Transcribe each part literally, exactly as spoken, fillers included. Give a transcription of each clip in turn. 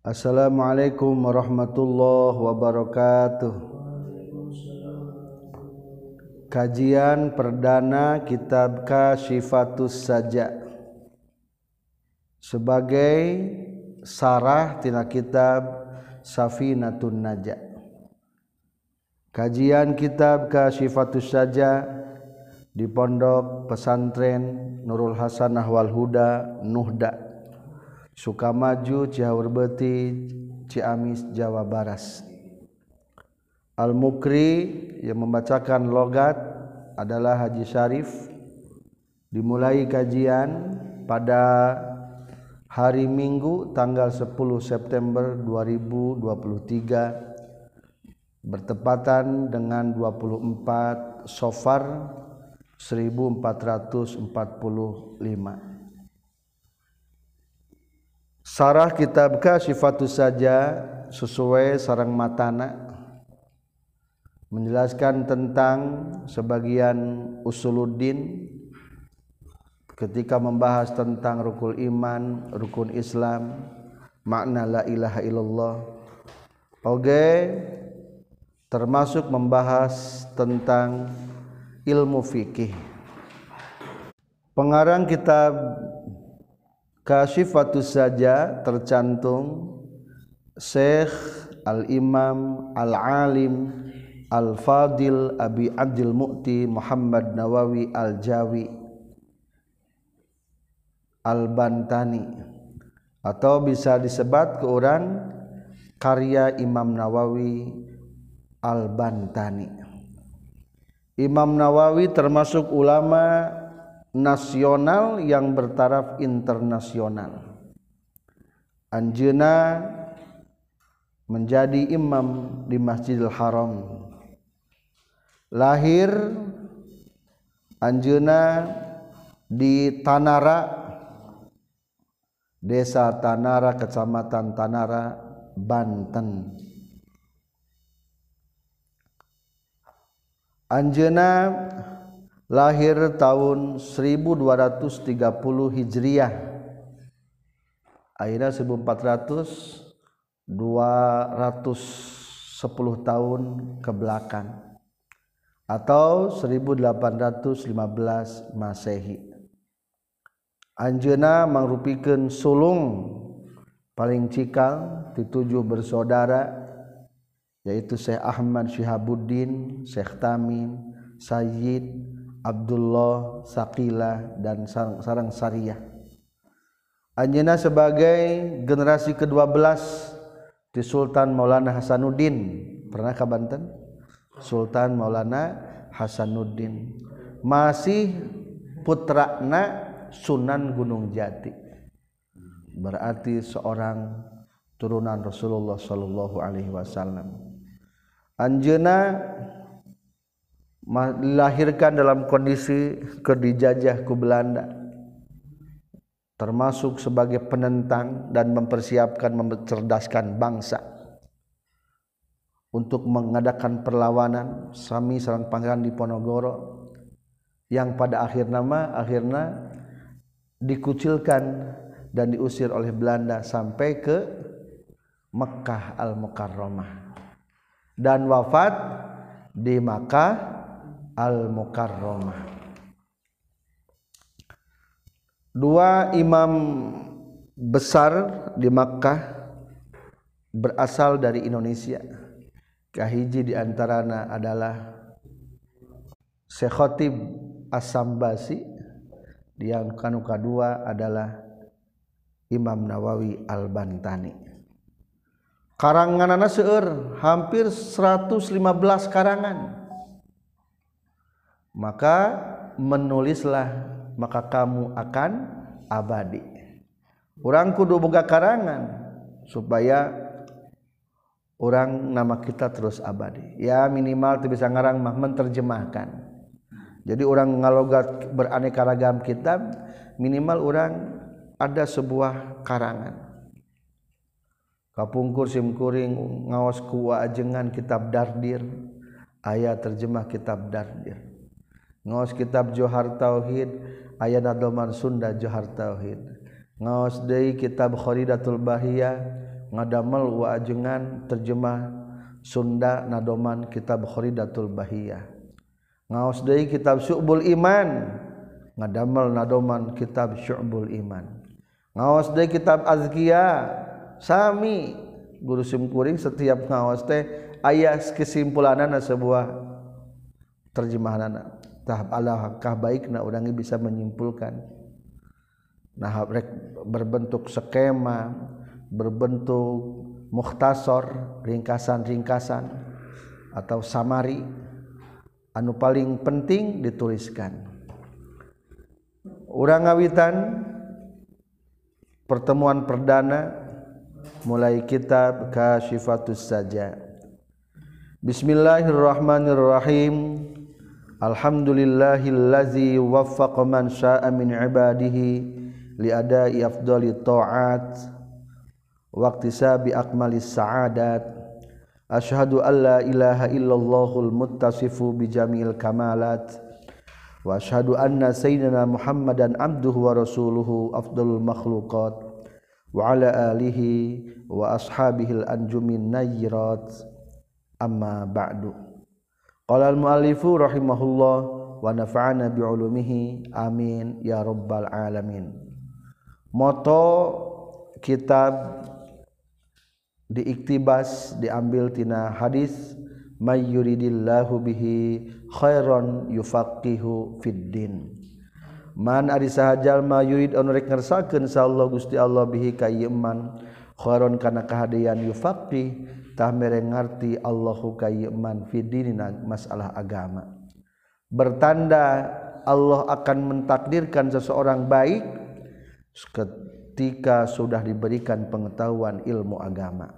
Assalamualaikum warahmatullahi wabarakatuh. Kajian perdana kitab Kasyifatus Saja sebagai sarah tina kitab Safinatun Najah. Kajian kitab Kasyifatus Saja di Pondok Pesantren Nurul Hasanah wal Huda Nuhda, Sukamaju, Cihaur Beuti, Ciamis, Jawa Barat. Al-Mukri yang membacakan logat adalah Haji Syarif. Dimulai kajian pada hari Minggu tanggal sepuluh September dua ribu dua puluh tiga bertepatan dengan dua puluh empat Safar seribu empat ratus empat puluh lima. Sarah kitab Kasyifatus Saja sesuai sareng matana menjelaskan tentang sebagian usuluddin ketika membahas tentang rukun iman, rukun Islam, makna la ilaha illallah. Oke, termasuk membahas tentang ilmu fikih. Pengarang kitab Kasyifatus Saja tercantum Syekh Al-Imam Al-Alim Al-Fadil Abi Abdul Mu'ti Muhammad Nawawi Al-Jawi Al-Bantani, atau bisa disebat ke orang karya Imam Nawawi Al-Bantani. Imam Nawawi termasuk ulama nasional yang bertaraf internasional. Anjeunna menjadi imam di Masjidil Haram. Lahir anjeunna di Tanara, Desa Tanara, Kecamatan Tanara, Banten. Anjeunna lahir tahun seribu dua ratus tiga puluh Hijriah, akhirnya seribu empat ratus dua ratus sepuluh tahun ke belakang, atau seribu delapan ratus lima belas Masehi. Anjeunna mangrupikeun sulung paling cikal ditujuh bersaudara, yaitu Syekh Ahmad Syihabuddin, Syekh Tamim, Sayyid Abdullah, Saqilah, dan sareng Sariyah. Anjeunna sebagai generasi kedua belas di Sultan Maulana Hasanuddin. Pernah ka Banten? Sultan Maulana Hasanuddin. Masih putrana Sunan Gunung Jati. Berarti seorang turunan Rasulullah sallallahu alaihi wasallam. Anjeunna dilahirkan dalam kondisi kedijajah ku Belanda, termasuk sebagai penentang dan mempersiapkan mencerdaskan bangsa untuk mengadakan perlawanan sami sareng Pangeran Diponegoro yang pada akhir nama akhirnya dikucilkan dan diusir oleh Belanda sampai ke Mekkah Al-Mukarramah dan wafat di Makkah Al-Mukarramah. Dua imam besar di Makkah berasal dari Indonesia. Kahiji di antarana adalah Syekh Khatib As-Sambasi, yang kanu kadua adalah Imam Nawawi Al-Bantani. Karanganana seueur hampir seratus lima belas karangan. Maka menulislah, maka kamu akan abadi. Urang kudu boga karangan supaya urang nama kita terus abadi. Ya minimal teu bisa ngarang mah menterjemahkan. Jadi urang ngalogat beraneka ragam kitab, minimal urang ada sebuah karangan. Kapungkur simkuring ngaos ku ajengan kitab Dardir, aya terjemah kitab Dardir. Ngaos kitab Johar Tauhid, aya nadoman Sunda Johar Tauhid. Ngaos deui kitab Kharidatul Bahiyah, ngadamel wa ajengan terjemah Sunda nadoman kitab Khuridatul Bahiyah ngaos deui kitab Syu'bul Iman ngadamel nadoman kitab Syu'bul Iman ngaos deui kitab Azkiya sami guru simkuring setiap ngaos teh aya kesimpulanana sebuah terjemahanana tahap alangkah baikna urang bisa menyimpulkan nah rek berbentuk skema berbentuk mukhtasar ringkasan-ringkasan atau samari anu paling penting dituliskan urang ngawitan pertemuan perdana mulai kitab Kasyifatus Saja. Bismillahirrahmanirrahim. Alhamdulillahillazi waffaqa man syaa'a min ibadihi li ada'i afdali ta'at wa iktisabi akmalis sa'adat. Asyhadu an la ilaha illallahul muttasifu bi jami'il kamalat wa asyhadu anna sayyidina Muhammadan abduhu wa rasuluhu afdalul makhluqat wa ala alihi wa ashabihil anjumin nayyirat amma ba'du qala al muallifu rahimahullah wa nafa'ana bi'ulumihi amin ya rabbal alamin. Moto kitab diiktibas diambil tina hadis may yuridillahu bihi khairan yufaqihu fid din. Man ari saha jalma yurid anu rek ngersakakeun insyaallah Gusti Allah bihi ka ieu man khairon kana kahadian yufaqih tah mere ngarti Allahu ka ieu man fi dinina masalah agama. Bertanda Allah akan mentakdirkan seseorang baik ketika sudah diberikan pengetahuan ilmu agama.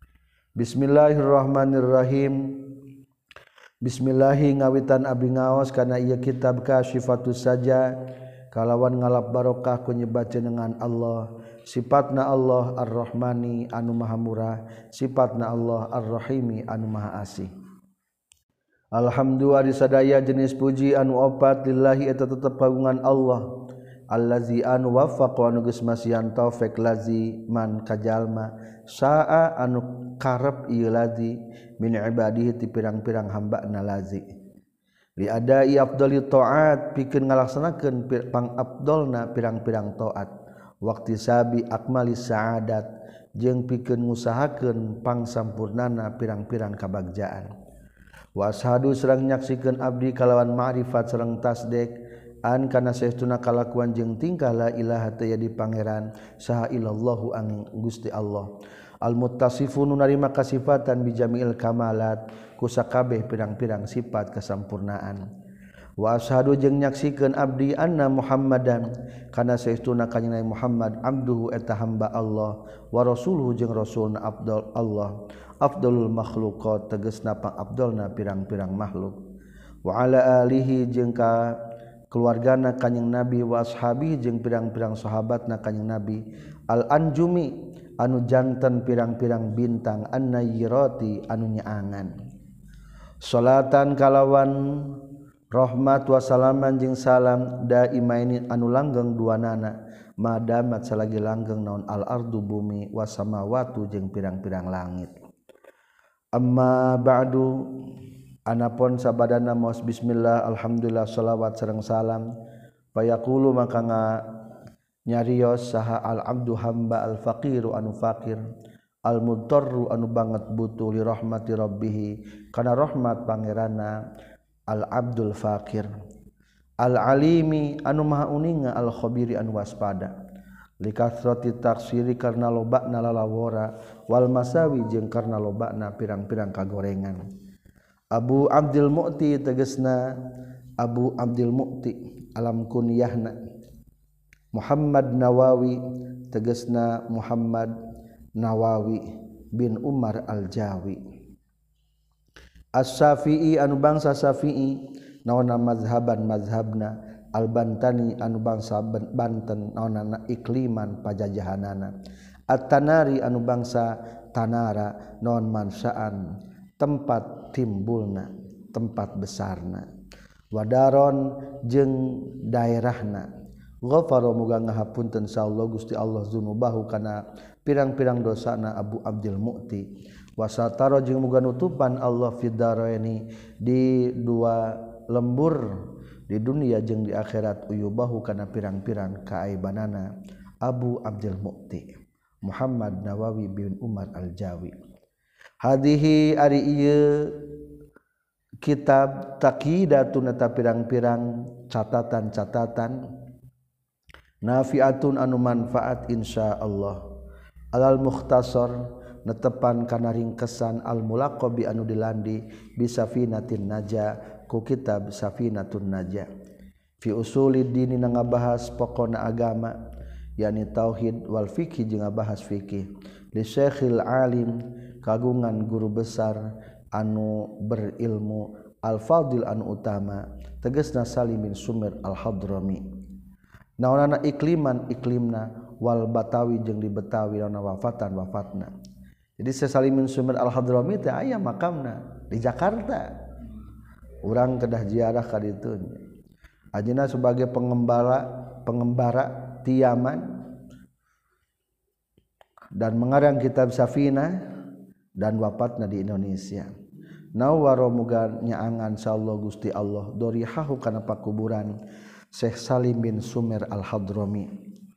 Bismillahirrahmanirrahim. Bismillahi ngawitan abdi ngaos kana ieu kitab Kasyifatus Saja kalawan ngalap barokah ku nyebat jenengan Allah sifatna Allah Ar-Rahmani anu maha murah sifatna Allah Ar-Rahimi anu maha asih. Alhamdulillah sadaya jenis puji anu opat lillahi eta tetep kagungan Allah allazi anu waffaqa anu geus masihan taufik lazi man kajalma saa anu karep ieu lazi min ibadihi ti pirang-pirang hambana lazi li adai afdali taat pikeun ngalaksanakeun pangabdolna pirang-pirang taat waqti sabi akmali saadat jeung pikeun ngusahakeun pangsampurnana pirang-pirang kabagjaan wa ashadu sareng nyaksikeun abdi kalawan ma'rifat sareng tasdek an kana saestuna kalakuan jeung tingkah la ilaha tayadi pangeran saha illallahu angin Gusti Allah al muttasifun narima kasifatan bi jami'il kamalat ku sakabeh pirang-pirang sifat kesempurnaan wa asyhadu jeung nyaksikeun abdi anna Muhammadan kana saestuna kanjeng Muhammad abduhu eta hamba Allah wa rasuluhu jeung rasulna afdal Allah afdalul makhluqat tegasna pangabdalna pirang-pirang makhluk wa ala alihi jeung ka keluargana kanjeng Nabi wa ashabihi jeung pirang-pirang sahabatna kanjeng Nabi al anjumi anu janten pirang-pirang bintang an-nayyirati anu nyaangan salatan kalawan rahmat wa salaman jeung salam daimaini anu langgeng duanana madamat salagi langgeng naon al ardu bumi was samawati jeung pirang-pirang langit amma ba'du anapun sabadana maos bismillah alhamdulillah shalawat sareng salam payaqulu maka nga nyarios saha al abdu hamba al faqiru anu faqir al mudarru anu banget butuh li rahmati rabbih kana rahmat pangerana al abdul faqir al alimi anu maha uninga al khabiri anu waspada li kasrati taksiri karna lobana lalawora wal masawi jeung karna lobana pirang-pirang kagorengan. Abu Abdul Mu'ti tegasna Abu Abdul Mu'ti alam kunyahna Muhammad Nawawi tegasna Muhammad Nawawi bin Umar Al-Jawi As-Syafi'i anu bangsa Syafi'i naonna mazhaban mazhabna Al-Bantani anu bangsa Banten naonna ikliman pajajahanana At-Tanari anu bangsa Tanara naon mansaan tempat timbulna tempat besarna wadaron jeung daerahna ghafara muga ngahapunten insyaallah Gusti Allah dzunubahu kana pirang-pirang dosana Abu Abdul Mu'ti wa satara jeung muga nutupan Allah fid daraini di dua lembur di dunia jeung di akhirat uyubahu kana pirang-pirang kaaibanana Abu Abdul Mu'ti Muhammad Nawawi bin Umar Al-Jawi. Hadihi ari ieu kitab taqidatun eta pirang-pirang catatan-catatan nafiatun anu manfaat insyaallah alal mukhtasar netepan kana ringkesan al mulaqabi anu dilandi bi safinatin naja ku kitab safinatun naja fi usulid dini ngabahas pokona agama yakni tauhid wal fikih jeung ngabahas fikih li syekhil alim kagungan guru besar anu berilmu al-fadil anu utama tegasna Salimin Sumir al-Hadrami naonana ikliman iklimna wal batawi jeung di Betawi naona wafatan wafatna. Jadi Salimin Sumir al-Hadrami teh aya makamna di Jakarta urang kedah ziarah ka ditu ajina sebagai pengembara pengembara ti Yaman dan mengarang kitab Safinah dan wafatna di Indonesia. Nawwara muga nyaangan insyaallah Gusti Allah dorihahu kana pakuburan Syekh Salim bin Sumir Al-Hadrami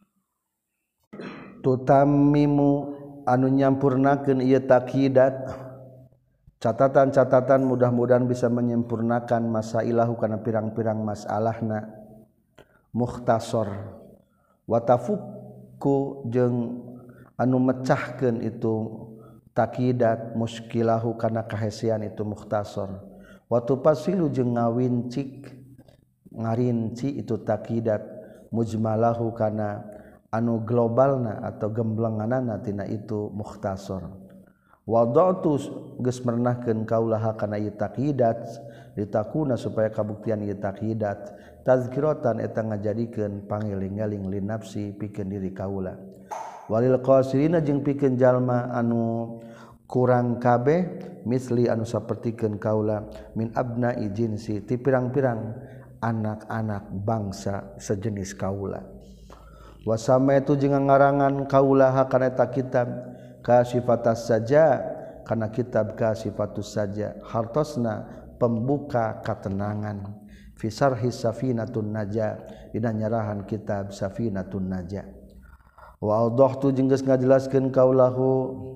tutammimu anu nyampurnakeun ieu taqidat catatan-catatan mudah-mudahan bisa menyempurnakan masailahu kana pirang-pirang masalahna mukhtasar wa tafukku jeung anu mecahkeun itu taqidat muskilahu kana kahesian itu mukhtasar wa tufasilu jeung ngawincik ngarinci itu taqidat mujmalahu kana anu globalna atau gemblenganana tina itu mukhtasar wadatu geus mernahkeun kaulaha kana ieu taqidat litakuna supaya kabuktian ieu taqidat tazkiratan eta ngajadikeun pangeling-eling li nafsi pikeun diri kaula walil qasirina jeung pikeun jalma anu kurang kabeh misli anu sapertikeun kaula min abna'i jinsi ti pirang-pirang anak-anak bangsa sejenis kaula wasama itu jeung ngarangan kaula kana eta kitab kasifatas saja kana kitab kasifatus saja hartosna pembuka katenangan fi sarhi safinatun naja dina nyarahan kitab safinatun naja wa awdahtu jeung geus ngajelaskeun kaulahu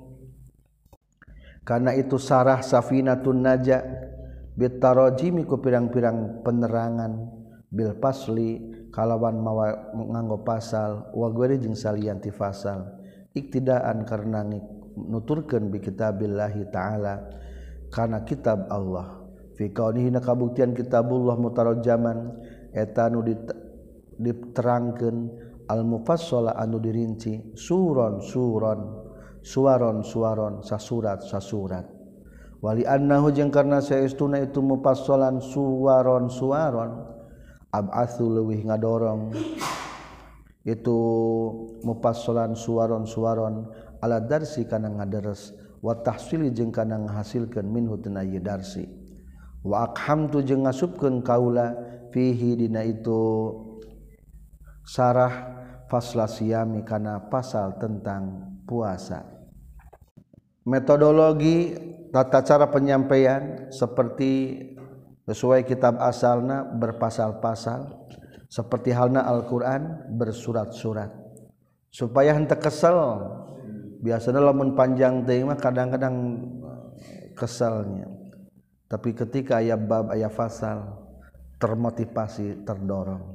kana itu sarah safinatun naja bitarajimi ku pirang-pirang penerangan bil pasli kalawan mawa nganggo pasal wa gueri jeung salian ti fasal iktidaan karena nuturkeun bi kitabillahi taala kana kitab Allah fi kaunihi na kabuktian kitabullah mutarajjaman eta nu diterangkeun al mufassala anu dirinci suron suron suaron suaron sasurat sasurat wali annahu jeung karna saestuna itu mufassalan suwaron suwaron ab'atsu leuwih ngadorong itu mufassalan suwaron suwaron ala darsi kana ngaderes wa tahsili jeung kana ngahasilkeun minhu tina ieu darsi wa aqhamtu jeung ngasupkeun kaula fihi dina itu sarah fasla siyami kana pasal tentang puasa metodologi tata cara penyampaian seperti sesuai kitab asalna berpasal-pasal seperti halna Al-Qur'an bersurat-surat supaya henteu kesel biasanya lamun panjang teuing mah kadang-kadang keselnya tapi ketika aya bab aya fasal termotivasi terdorong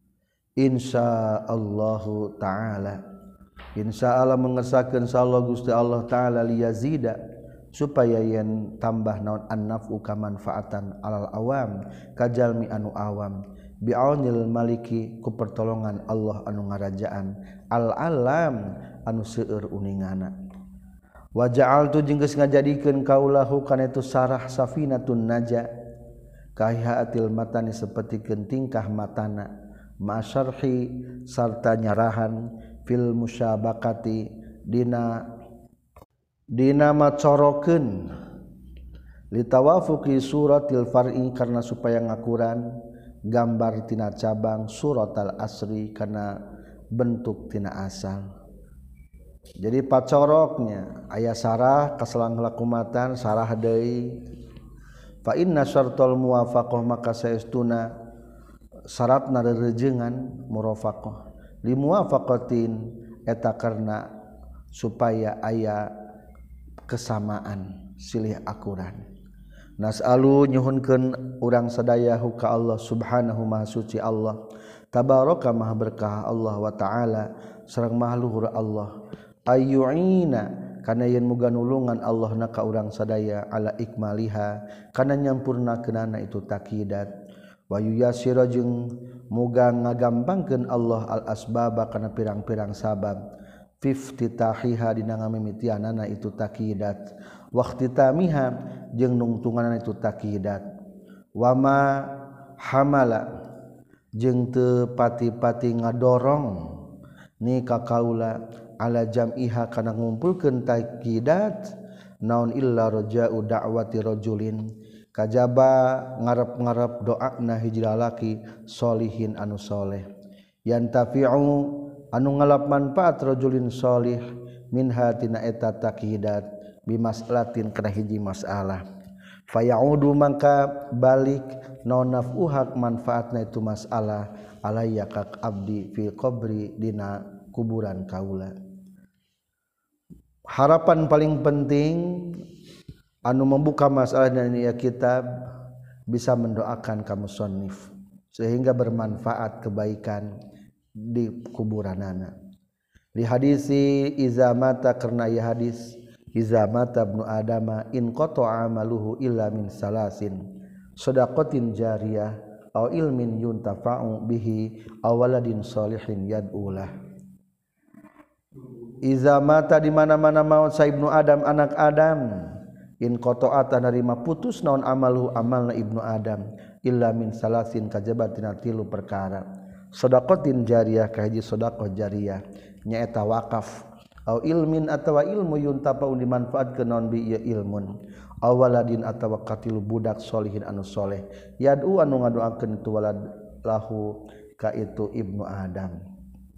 insyaallahu taala insyaallah mengesakeun insyaallah Gusti Allah taala liyazida supaya yen tambah naon an-naf'u kamanfaatan alal awam kajalmi anu awam bi'aunil maliki ku pertolongan Allah anu ngarajaan al-alam anu seueur uningana wa ja'altu jeung geus ngajadikeun kaulahu kana itu sarah safinatun naja kahaatil matani sapertikeun tingkah matana ma'syarhi sarta nyarahan fil musyabakati dina dina macorokeun litawafuqi suratil far'i karna supaya ngakuran gambar tina cabang surat al-asri kana bentuk tina asal. Jadi pacoroknya aya sarah kaselang lakumatan sarah deui. Fa inna syartul muwafaqah maka saestuna syaratna rerejengan murafaqah li muwafaqatin eta karna supaya aya kesamaan silih akuran. Nas'alu nyuhunkeun urang sadayahu ka Allah subhanahu maha suci Allah tabaraka maha berkah Allah wa ta'ala sareng maha luhur Allah ayyu'ina kana yen muga nulungan Allah na ka urang sadaya ala ikmaliha kana nyampurnakeunana itu takidat wa yuyasira jeung muga ngagampangkeun Allah al asbaba kana pirang-pirang sabab fiftitahiha dina ngamimitianana itu takidat waqtitamiha jeung nungtunganana itu takidat wama hamala jeung teu pati-pati ngadorong ni ka kaula ala jam'iha kana ngumpulkeun takidat naon illa raja'u da'wati rajulin kajaba ngarep-ngarep doana hiji lalaki solihin anu soleh yantafi'u anu ngalap manfaat rajulin solih minha tina eta takidat bimas'alatin kana hiji masalah fayaudu mangka balik naon naf'uha manfaatna itu masalah alayya kak abdi fil qabri dina kuburan kaula. Harapan paling penting anu membuka masalah dari kitab bisa mendoakan ka musannif sehingga bermanfaat kebaikan di kuburanana. Di hadisi iza mata karena ya hadis iza mata ibnu adama in qata'a amaluhu illa min salasin shadaqatin jariyah aw ilmin yuntafa'u bihi aw waladin shalihin yad'ulah. Iza mata di mana-mana maut sa ibnu Adam anak Adam in qata'ata narima putus naon amalu amalna ibnu Adam illa min salasin kajaba tina tilu perkara shadaqatin jariyah ka hiji sedekah jariyah nyaeta wakaf au ilmin atawa ilmu yuntafa'u dimanfaatkeun naon bi ieu ilmun aw waladin atawa katilu budak solihin anu soleh yad'u anu ngadoakeun itu walad lahu ka itu ibnu Adam.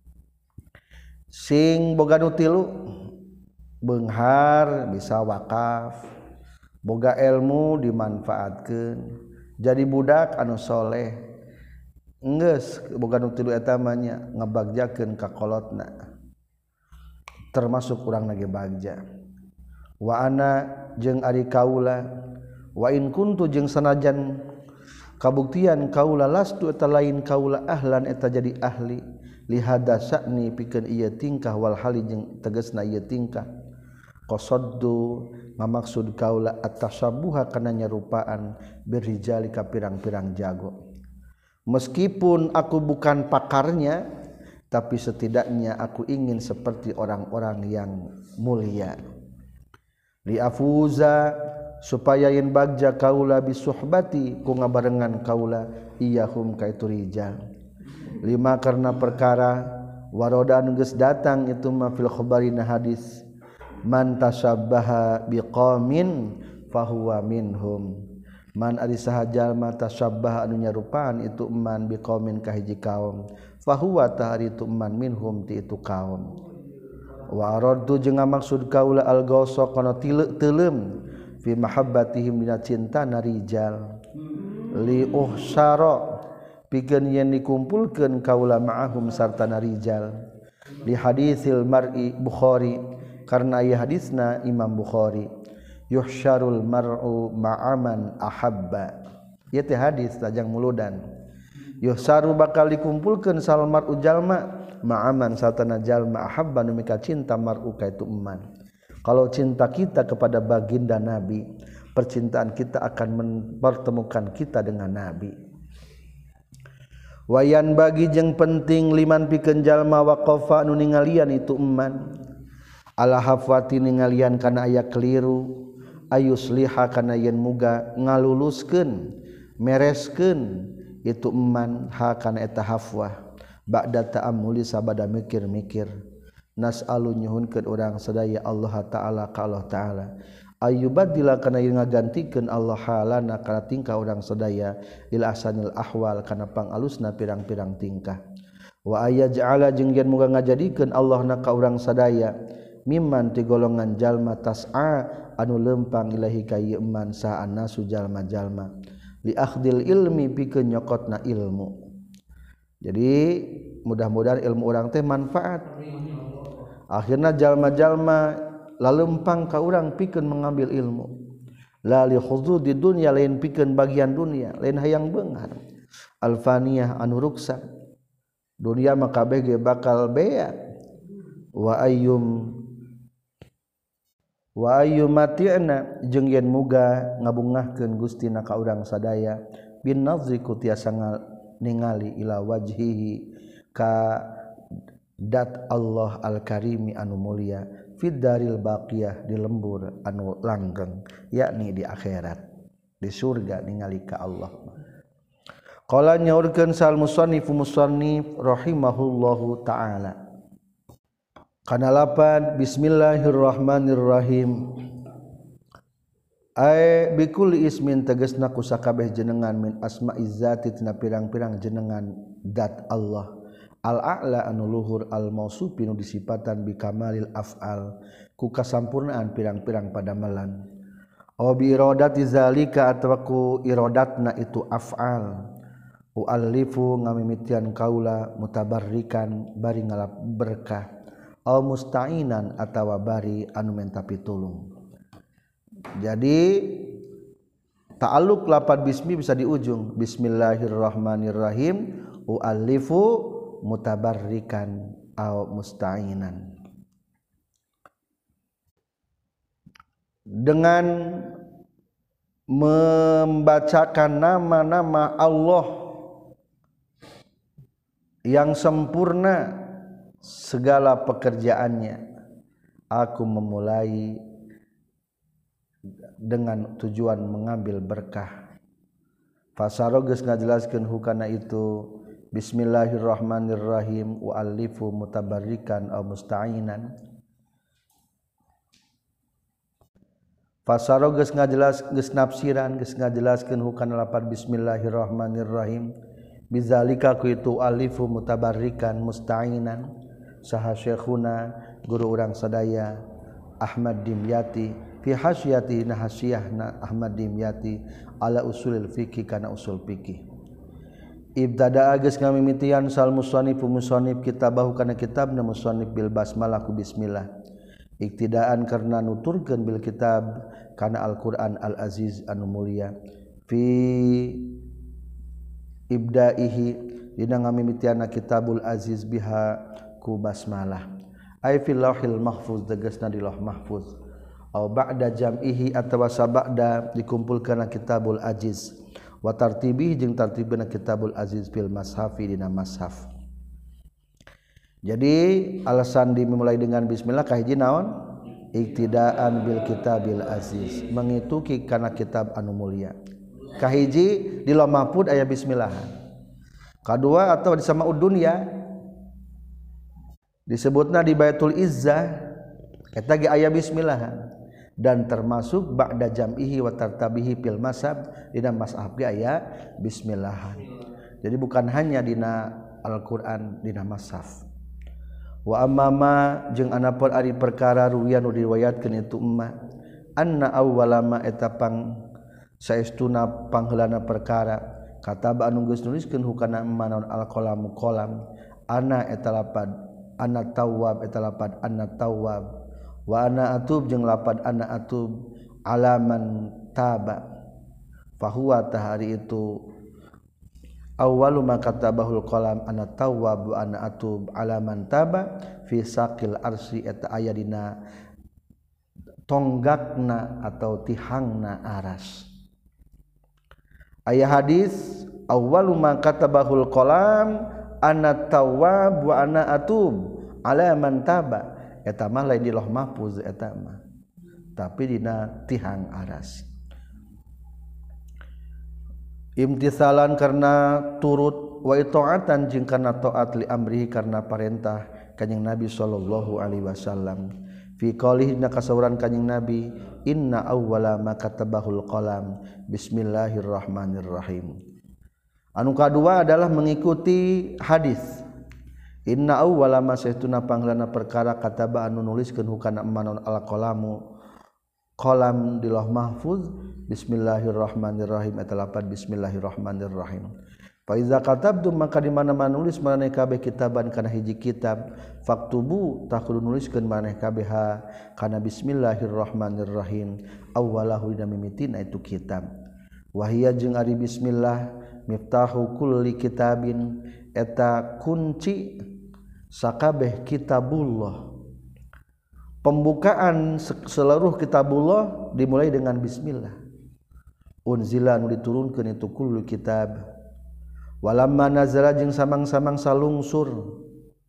Sing boga nu tilu beunghar bisa wakaf boga ilmu dimanfaatkeun jadi budak anu soleh geus boga nu tilu eta mah nya ngabagjakeun ka kolotna termasuk urang nage bagja wa ana jeung ari kaula wa in kuntu jeung sanajan kabuktian kaula lastu eta lain kaula ahlan eta jadi ahli lihada sa'ni pikeun ieu tingkah wal hali jeung tegasna ieu tingkah qasaddu ngamaksud kaula at-tashabbuha kana nyarupaan birijali ka pirang-pirang jago meskipun aku bukan pakarnya tapi setidaknya aku ingin seperti orang-orang yang mulia li afuza supaya yen bagja kaula bisuhbati ku ngabarengan kaula iyahum ka itu rijal lima karena perkara waroda anu geus datang itu ma fil khabarina hadis man tasabbaha biqaumin fahuwa minhum man ari saha jalma tasabbaha anu nyarupaan itu man biqaumin ka hiji kaum fahuwa tahari itu man minhum ti itu kaum wa araddu jeung maksud kaula al gausa kana teuleum fi mahabbatihim dina cinta narijal li uhsara pikeun yen dikumpulkeun kaula ma'ahum sarta narijal li hadisil mar'i Bukhari karena ieu hadisna Imam Bukhari yuhsyarul mar'u ma'aman ahabba ieu teh hadis tajang muludan yuhsaru bakal dikumpulkeun sal mar'u jalma ma'aman satana jalma ahabba nu mika cinta mar'u ka itu eman kalau cinta kita kepada baginda Nabi percintaan kita akan mempertemukan kita dengan Nabi wayan bagi jeung penting liman pikeun jalma waqafa anu ningalian itu eman ala hafwati ningalian kana aya keliru ayusliha kana yen muga ngaluluskeun mereskeun itu eman ha kana eta hafwah ba'da ta'ammuli sabada mikir-mikir nas'alu nyuhunkeun urang sadaya Allah taala ka Allah taala ayyubadila kana ngagantikeun Allah halana kana tingkah urang sadaya ila ahsanil ahwal kana pangalusna pirang-pirang tingkah wa ayaj'ala jeung yen muga ngajadikeun Allah na ka urang sadaya mimman ti golongan jalma tas'a anu lempang ilahi ka ieu man sa annasu jalma-jalma li akhdil ilmi pikeun nyokotna ilmu. Jadi mudah-mudahan ilmu urang teh manfaat. Akhirna jalma-jalma lalempang ka urang pikeun mengambil ilmu. La li khududi dunya lain pikeun bagian dunia, lain hayang beungar. Alfaniyah anu ruksa. Dunia mah kabeh ge bakal bea. Wa ayyum wa ayyumati'na jeung yen muga ngabungahkeun Gustina ka urang sadaya bin nazri ku tiasa ningali ila wajhihi ka dat Allah al-karimi anu mulia fid daril baqiyah di lembur anu langgeng yakni di akhirat di surga ningali ka Allah. Qala nyaurkeun sal musannif musannif rahimahullahu taala kana lapan bismillahirrahmanirrahim ay bikulli ismin tegasna ku sakabeh jenengan min asma'iz zati tina pirang-pirang jenengan dat Allah al-a'la anu luhur al-mausufi nu disipatan bi kamalil af'al ku kasampurnaan pirang-pirang padamelan aw bi iradati zalika atawa ku iradatna itu af'al u'allifu ngamimitian kaula mutabarrikan bari ngalap berkah aw musta'inan atawa bari anu menta pitulung. Jadi ta'alluq lafaz bismi bisa di ujung bismillahirrahmanirrahim u'allifu mutabarrikan aw musta'inan. Dengan membacakan nama-nama Allah yang sempurna segala pekerjaannya, aku memulai dengan tujuan mengambil berkah. Fasaro geus ngajelaskeun hukana itu bismillahirrahmanirrahim u'allifu mutabarrikan aw musta'inan. Fasaro geus ngajelas geus nafsiran geus ngajelaskeun hukana lafaz bismillahirrahmanirrahim bizalika ku itu alifu mutabarrikan musta'inan saha syekhuna guru urang sadaya Ahmad Dimyati fi hasyati na hasyahna Ahmad Dimyati ala usulil fiqih kana usul fikih. Ibtada geus ngamimitian sal musannif musannif kitabahu kana kitabna musannif bil basmalah ku bismillah. Iktidaan karena nuturkeun bil kitab kana Al-Qur'an Al-Aziz anu mulia fi ibdaihi dina ngamimitianna kitabul aziz biha ku basmalah ay fil lauhil mahfuz tegasna di lauh mahfuz aw ba'da jam'ihi atawa sabada dikumpulkeun kitabul aziz wa tartibihi jeung tartibna kitabul aziz fil mashafi dina mashaf. Jadi alasan dimulai dengan bismillah kahiji naon iktidaan bil kitabil aziz mengituki kana kitab anu mulia. Kahiji di lauh mahfuz aya bismillahan. Kadua atau di samaud dunya disebutna di Baitul Izzah eta ge aya bismillahan dan termasuk ba'da jam'ihi wa tartabihi fil masab dina mashaf ge aya bismillahan. Jadi bukan hanya dina Al-Qur'an dina mashaf. Wa ammama jeung anapun ari perkara ruwiyan nu diriwayatkeun itu umma anna awwalama eta pang saestuna pangheulana perkara kata anu geus nuliskeun hukana manaon al-qalam qalam ana eta lapad ana tawwab eta lapad ana tawwab wa ana atub jeung lapad ana atub alaman taba fahuwa tahari itu awwalu ma katabahul qalam ana tawwab wa ana atub alaman taba fi saqil arsy eta aya dina tonggakna atau tihangna aras. Aya hadis awwalu ma katabahul qalam ana tawwab wa ana atub ala man taba eta mah lain di lauh mahfuz eta mah tapi dina tihang aras. Imtithalan karena turut wa itaatan jeung kana taat li amrihi karena perintah Kanjing Nabi sallallahu alaihi wasallam fi qaulihi na kasauran Kanjing Nabi inna awwala ma katabahul qalam bismillahirrahmanirrahim. Anu kadua adalah mengikuti hadis inna awwala ma saestuna panglana perkara kataba anu nuliskeun hukana manon al qalamu qalam di lauh mahfuz bismillahirrahmanirrahim eta lapan bismillahirrahmanirrahim. Fa iza katabtum maka di mana-mana nulis maneh kabeh kitaban kana hiji kitab faktubu tah kudu nuliskeun maneh kabeh kana bismillahirrahmanirrahim awwalahu dina mimitina itu kitab. Wahia jeung ari bismillah miftahu kulli kitabin eta kunci sakabeh kitabullah. Pembukaan seluruh kitabullah dimulai dengan bismillah. Unzila nu diturunkeun itu kullu kitab. Walamma nazala jeung samang-samang salungsur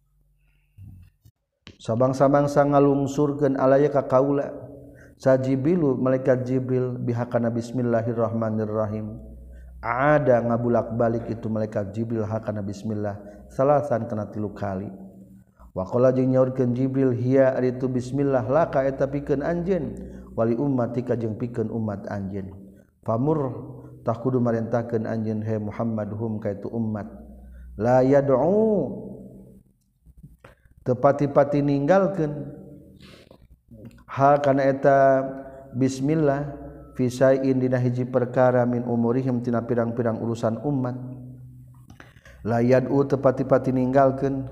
sabang-samang ngalungsurkeun alaya ka kaula sa Jibrilu malaikat Jibril bihakana bismillahirrahmanirrahim ada ngabulak-balik itu malaikat Jibril hakana bismillah salasan kana tilu kali wa qala jeung nyaurkeun Jibril hiya ari itu bismillah laka eta pikeun anjeun wali ummatika jeung pikeun umat anjeun famur tah kudu marentahkeun anjeun he Muhammad hum ka itu umat la yad'u teu pati-pati ninggalkeun ha kana eta bismillah fi sain dina hiji perkara min umurihim tina pirang-pirang urusan umat la yad'u teu pati-pati ninggalkeun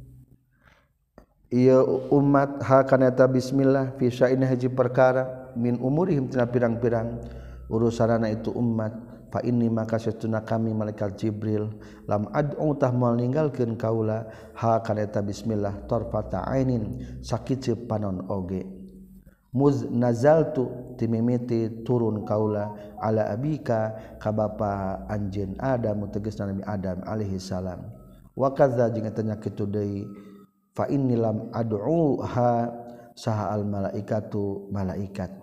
ieu umat ha kana eta bismillah fi sain hiji perkara min umurihim tina pirang-pirang urusanana itu umat fa inni maka satuna kami malaikat Jibril lam ad'u tah moal ninggalkeun kaula ha kana eta bismillah tarfata ainin sakiceu panon oge muz nazaltu timimiti turun kaula ala abika ka bapa anjeun Adam tegasna Nabi Adam alaihi salam wa kadza jeung eta nya kitu deui fa inni lam ad'u ha saha al malaikatu malaikat.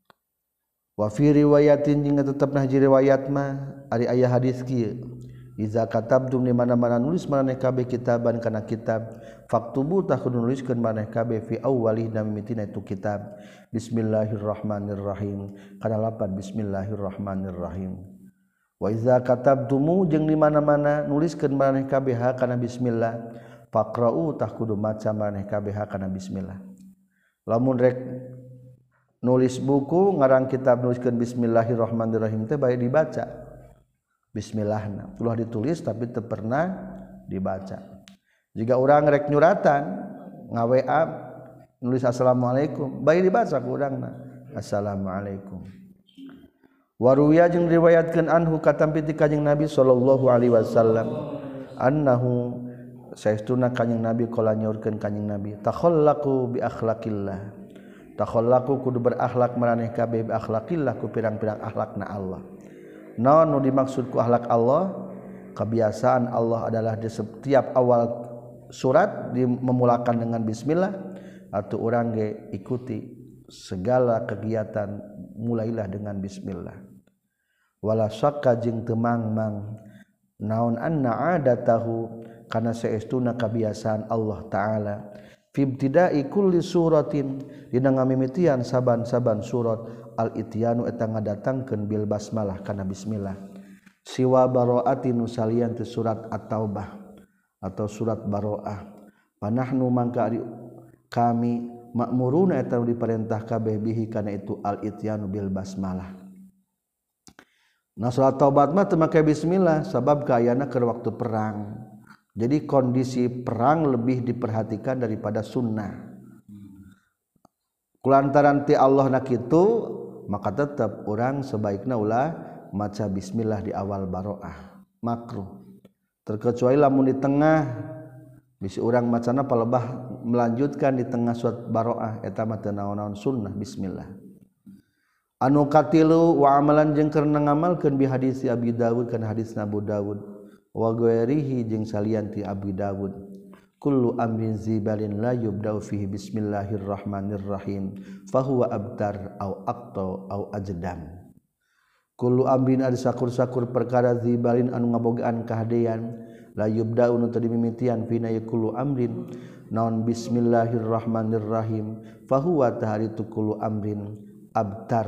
Wa fi riwayatin jeung tetepna hiji riwayat mah ari aya hadis kieu iza katabtum di mana-mana nulis maneh kabeh kitaban kana kitab faktubu tah kudu nuliskeun maneh kabeh fi awwalih na mimitina itu kitab bismillahirrahmanirrahim kana lapan bismillahirrahmanirrahim wa iza katabtumu jeung di mana-mana nuliskeun maneh kabeh kana bismillah faqra'u tah kudu maca maneh kabeh kana bismillah lamun rek nulis buku ngarang kitab nuliskeun bismillahirrahmanirrahim teh bae dibaca bismillahna ulah ditulis tapi teu pernah dibaca jika urang rek nyuratan ngawe nulis assalamualaikum bae dibaca ku urangna assalamualaikum waruya jeung riwayatkeun anhu katampi ti kanjing Nabi sallallahu alaihi wasallam annahu saestuna kanjing Nabi qala nyaurkeun kanjing Nabi takhallaqu bi akhlaqillah takhallaqu kudu berakhlak maraneh kabeh bi akhlaqillah ku pirang-pirang akhlakna Allah. Naon nu dimaksud ku akhlak Allah? Kebiasaan Allah adalah di setiap awal surat dimulakan dengan bismillah atau urang ge ikuti segala kegiatan mulailah dengan bismillah. Wala syakka jeung teu mangmang naon anna adatahu kana saestuna kebiasaan Allah taala fi ibtida'i kulli suratin dina ngamimitian saban-saban surat al-ityanu eta ngadatangkeun bil basmalah kana bismillah siwa bara'atin nusalian ti surat at-taubah atau surat baroah panahnu mangka kami makmuruna eta diperintah kabeh bihi kana itu al-ityanu bil basmalah. Nah surat taubat mah teu make bismillah sabab kaayana keur waktu perang. Jadi kondisi perang lebih diperhatikan daripada sunnah. Kulantaran ti Allah nak itu maka tetap orang sebaiknya ulah maca bismillah di awal baroah makruh. Terkecuali lamun di tengah bisi orang macana palebah melanjutkan di tengah surat baroah eta mah teu naon-naon sunnah bismillah. Anu katilu wa amalan jeung keur ngamalkeun bi hadis Abi Dawud kana hadis Abu Dawud. Wa ghairihi jeung salian ti Abi Dawud kullu amrin zibalin la yubda'u fihi bismillahirrahmanirrahim fahuwa abtar au aqta au ajdam kullu amrin ada sakur-sakur perkara zibalin anu ngabogaan kahadean la yubda'u nu teu dimimitian fina yakulu amrin naon bismillahirrahmanirrahim fahuwa taharitu kullu amrin abtar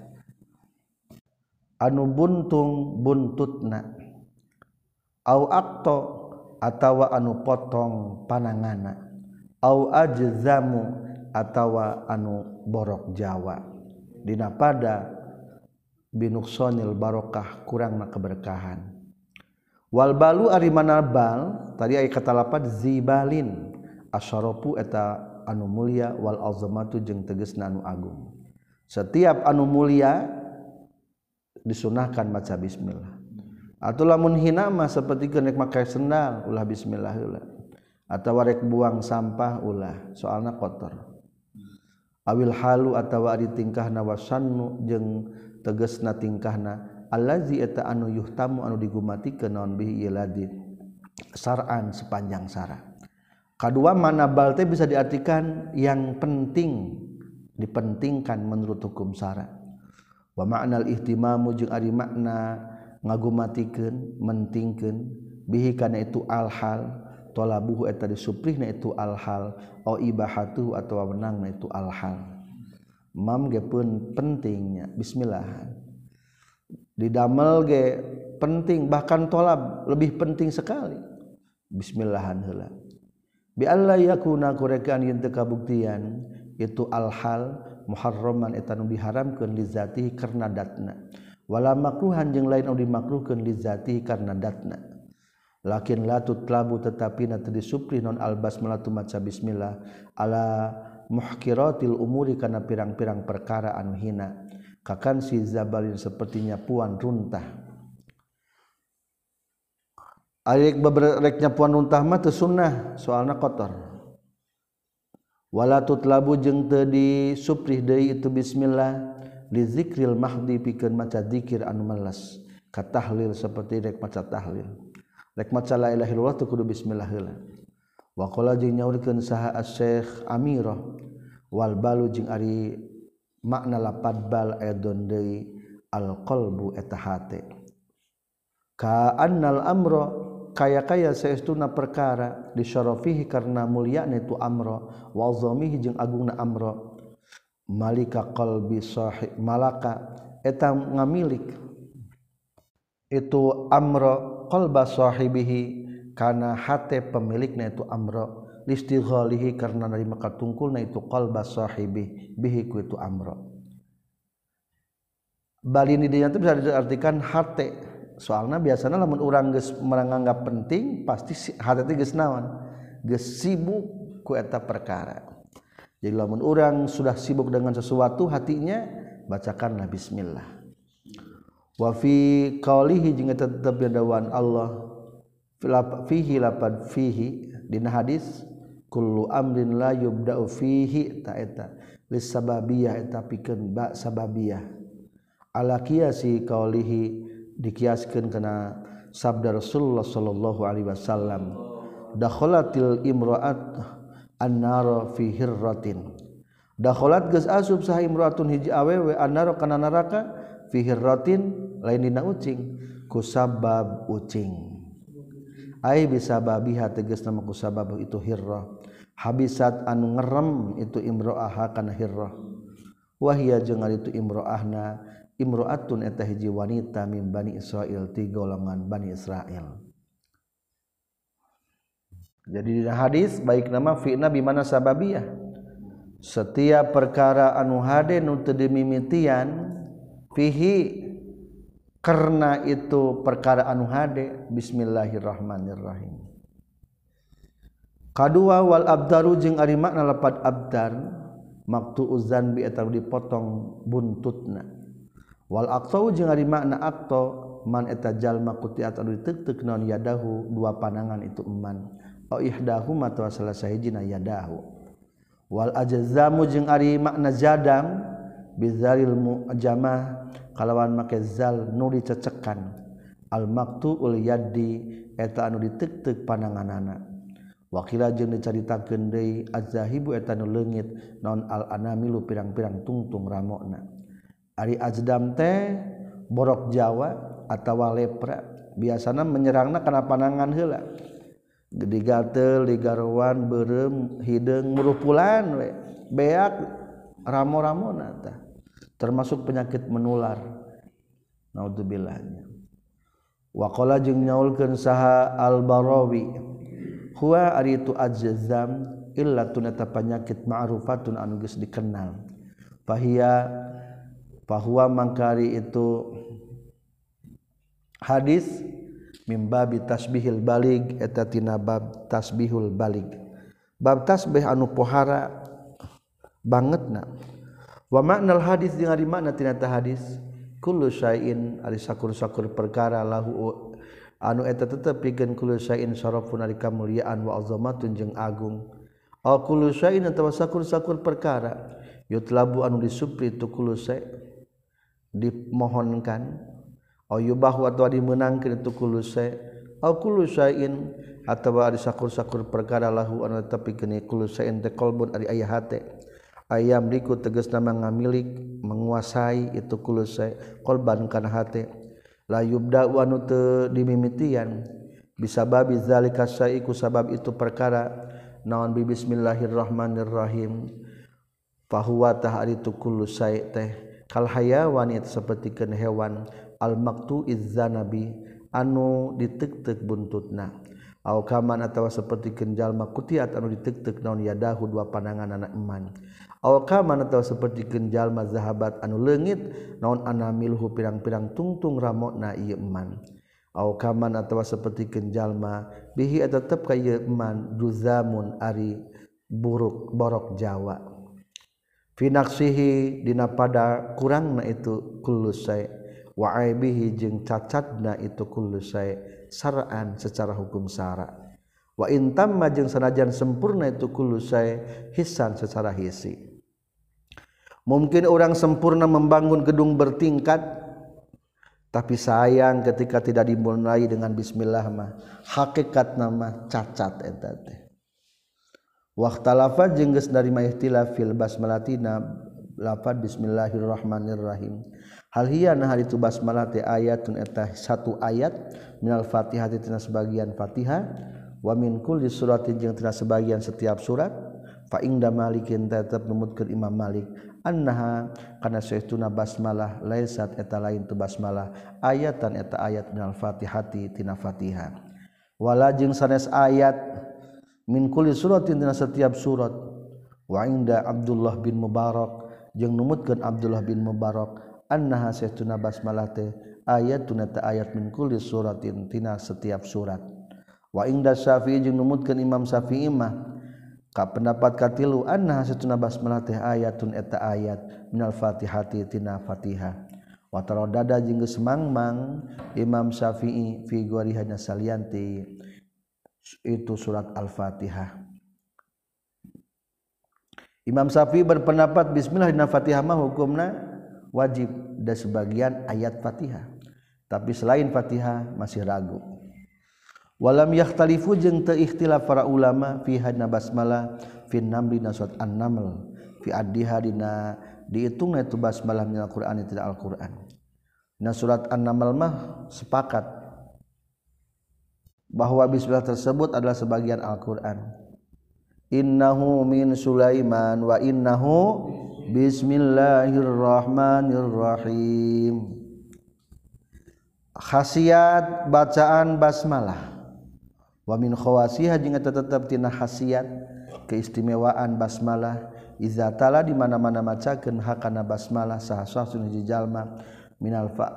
anu buntung buntutna au aqta atawa anu potong panangana au ajzamu atawa anu borok jawa dina pada binuksonil barokah kurangna keberkahan wal balu ari mana bal tadi aya kata lapad zibalin asyarafu eta anu mulia wal azamatu jeung tegasna anu agung setiap anu mulia disunahkan maca bismillah atuh lamun hina mah sapertikeun rek make sendal ulah bismillah heula atawa rek buang sampah ulah soalna kotor awil halu atawa ari tingkahna wasannu jeung tegasna tingkahna allazi eta anu yuhtamu anu digumatikeun naon bihi iladid sar'an sepanjang sara kadua mana bal teh bisa diartikan yang penting dipentingkan menurut hukum sara wa ma'nal ihtimamu jeung ari makna ngagumatikeun mentingkeun bihi kana itu al-hal talabuhu eta disuprihna itu al-hal au ibahatu atawa menangna itu al-hal mam ge pun pentingnya bismillah didamel ge penting bahkan tolab lebih penting sekali bismillahan heula bi alla yakuna kurekan yen teu kabuktian itu al-hal muharraman eta nu diharamkeun li zatihi karna datna wala makruhan jeung lain anu dimakruhkeun li zatihi karna datna lakin la tutlabu tetapi na teu disuprih non al-basmalah tu maca bismillah ala muhkiratil umuri kana pirang-pirang perkara anu hina kakan si zabalin sepertinya puan runtah Arek bebereknya puan runtah mah teu sunnah soalna kotor. Wala tutlabu jeung teu disuprih deui itu bismillah li zikril mahdi pikeun maca zikir anu meles ka tahlil saperti rek maca tahlil. Rek maca la ilaha illallah teu kudu bismillah heula. Wa qala jeung nyaurkeun saha asy-syekh Amirah wal balu jeung ari makna lapad bal aidon deui al qalbu eta hate. Ka annal amra kaya-kaya saestuna perkara disyarafihi karena mulyana itu amra wa azamihi jeung agungna amra malika qalbi sahib malaka eta ngamilik itu amra qalba sahibihi kana hate pemilikna itu amra listighalihi karena narima katungkulna itu qalba sahibi bihi ku itu amra balini dinya teh bisa diartikan hate. Soalnya biasanya lamun urang geus meranganggap penting pasti hati teh geus naon geus sibuk ku eta perkara. Jadi lamun urang sudah sibuk dengan sesuatu hatinya bacakanlah bismillah. Wa fi qaulihi jeung eta tetep dawan Allah fihi lapad fihi dina hadis kullu amrin la yubda'u fihi ta eta lis sababiyah eta pikeun ba sababiyah ala qiyasi qaulihi dikiaskeun kana sabda Rasulullah sallallahu alaihi wasallam dakhalatil imra'at an-nar fi hirratin dakhalat geus asup saha imra'atun hiji awewe an-nar kana neraka fi hirratin lain dina ucing ku sabab ucing ai bisababiha tegasna ku sabab itu hirrah habisat anu ngerem itu imra'ah kana hirrah wa hiya jeung itu imra'ahna imro'atun eta hiji wanita min Bani Israil ti golongan Bani Israil. Jadi di hadis baik nama fi'na bimana sababiyah. Setiap perkara anu hade nu teu dimimitian fihi karena itu perkara anu hade bismillahirrahmanirrahim. Kadua wal abdaru jeung ari makna lapad abdar maqtu'uz zanbi eta dipotong buntutna. Wal aqtau jeung ari makna aqta man eta jalma kutiat anu diteuk-teuk naon yadahu dua panangan itu eman au ihdahuma atawa salah sahijina yadahu wal ajzamu jeung ari makna jadam bizalil mu'jamah kalawan make zal nu dicecekan al maqtuul yaddi eta anu diteuk-teuk pananganana wakila jeung dicaritakeun deui azzahibu eta nu leungit naon al anamilu pirang-pirang tungtung ramona ari ajdam teh borok Jawa atawa lepra biasana menyerangna kana panangan heula digatel digarowan beureum hideung murupulan we beak ramo-ramona tah termasuk penyakit menular naudzubillah. Wa qala jeung nyaulkeun saha Al-Barawi huwa ari itu ajzam illatun eta panyakit ma'rufatun anu geus dikenal fahiya fahuwa mangkari itu hadis mimbabi tasbihil balig eta tina bab tasbihul balig bab tasbih anu pohara bangetna wa maknal hadis jeung ari makna tina hadis kullu syai'in ari sakur-sakur perkara lahu anu eta tetep pikeun kullu syai'in syarafun ari kamulyaan wa azamatun jeung agung al kullu syai'in atawa sakur-sakur perkara yutlabu anu disupri tu kullu syai' dimohonkan au yubahu atawa dimeunangkeun tu kullu syai' au kullu syai'in atawa ari sakur-sakur perkara lahu anu tetep pikeun kullu syai'in teh qalbun ari aya hate ayam liku tegasna ngamilik menguasai itu kullu syai' qalban kana hate la yubda wa anu teu dimimitian bisababi zalika syai' ku sabab itu perkara naon bi bismillahirrahmanirrahim fahuwa tah ari tu kullu syai' teh kal hayawan itu sapertikeun hewan al maqtu'iz zanabi anu ditektek buntutna au kaman atawa sapertikeun jalma kutiat anu ditektek naon yadahu dua pandangan anak eman au kaman atawa sapertikeun jalma zahabat anu leungit naon anamilhu pirang-pirang tungtung ramona ieu eman au kaman atawa sapertikeun jalma bihi eta tetep ka ieu eman duzamun ari buruk borok Jawa fi naqsihi dina pada kurangna itu kullu syai' wa aibihi jeung cacatna itu kullu syai' saraan secara hukum syara wa in tamma jeung sanajan sempurna itu kullu syai' hisan secara hisi. Mungkin orang sempurna membangun gedung bertingkat tapi sayang ketika tidak dimulai dengan bismillah mah hakikat nama cacat eta teh. Waqtalafa jeung geus narima ihtilaf fil basmalatina lafaz bismillahirrahmanirrahim. Hal hiya nah itu basmalah teh ayatun eta satu ayat minal Fatihah tina sebagian Fatihah wa min kulli suratin jeung tina sebagian setiap surat fa ingda malikin tetep numutkeun Imam Malik annaha kana saestuna basmalah laisat eta lain tu basmalah ayatan eta ayat minal Fatihati tina Fatihah wala jeung sanes ayat min kulli suratin tina setiap surat wa inda Abdullah bin Mubarak jeung numutkeun Abdullah bin Mubarak annaha saestuna basmalah teh ayatun eta ayat min kulli suratin tina setiap surat wa inda Syafi'i jeung numutkeun Imam Syafi'i mah ka pendapat katilu annaha satuna basmalah teh ayatun eta ayat minal Fatihati tina Fatihah wa taradada jeung geus mangmang Imam Syafi'i fi gharihana salianti itu surat Al-Fatihah. Imam Syafi'i berpendapat bismillah dina Fatihah mah hukumna wajib da sebagian ayat Fatihah tapi selain Fatihah masih ragu. Walam yakhtalifu jeung teu ikhtilaf para ulama fi hadna basmalah fi namli surat An-Naml fi addiha dina dihitungna itu basmalah minal Qur'an tidak Al-Qur'an. Nah surat An-Naml mah sepakat bahwa bismillah tersebut adalah sebagian Al-Qur'an. Innahu min Sulaiman wa innahu bismillahirrahmanirrahim. Khasiat bacaan basmalah wa min khawasiha jeung eta tetep tina khasiat keistimewaan basmalah iza tala di mana-mana macakeun hakana basmalah saha sasun hiji jalma minal fa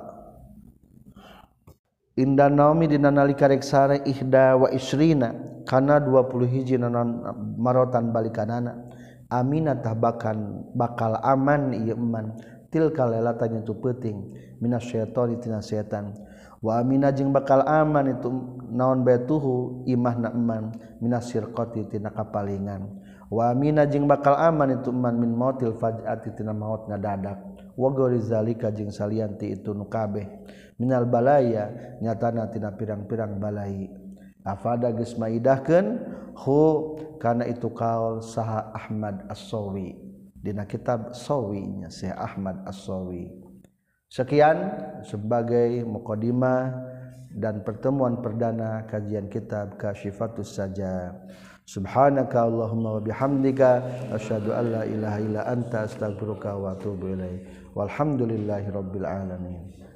inda naumi dina nalika rek sare ihda wa isrina kana dua puluh hiji nanon marotan balikanana aminatah bakan bakal aman ieu eman tilka lailatan itu peuting minasyaitani tina setan wa amina jeung bakal aman itu naon batuhu imahna eman minasirqati tina kapalingan wa amina jeung bakal aman itu eman min mautil faj'ati tina maut ngadadak wa ghairi zalika jeung salianti itu nu kabeh minal balaya nyatana tina pirang-pirang balai afada geus maidahkeun hu kana itu kaul saha Ahmad As-Sawi dina kitab Sawi nya Syekh Ahmad As-Sawi. Sekian sebagai mukadimah dan pertemuan perdana kajian kitab Kasyifatus Sajaa. Subhanaka Allahumma wa bihamdika asyhadu an la ilaha illa anta astaghfiruka wa atubu ilaik. Walhamdulillahirabbil alamin.